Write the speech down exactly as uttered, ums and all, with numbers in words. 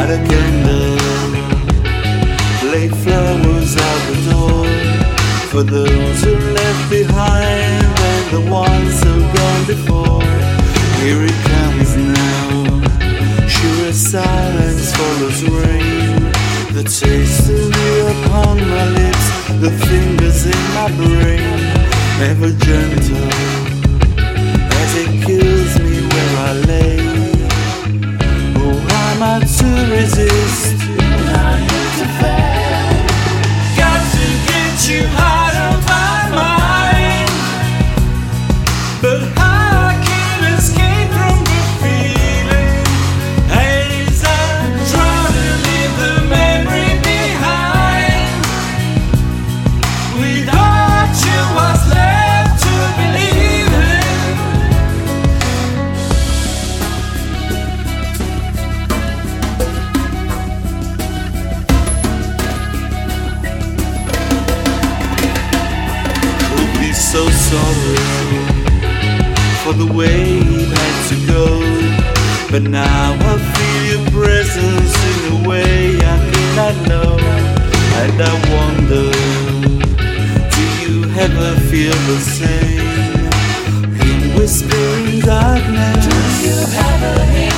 light a candle, lay flowers out the door for those who left behind and the ones who've gone before. Here it comes now, sure as silence follows rain. The taste of you upon my lips, the fingers in my brain, ever gentle as it kills me where I lay. Oh, how am I to resist? I hate to fail. Got to get you out of my mind, but I can't escape from the feeling as I try to leave the memory behind. Without you, what's left to believe in? We'll be so sorry for the way it had to go, but now I feel your presence in a way I did not know. And I wonder, do you ever feel the same? In whispering darkness, do you ever hear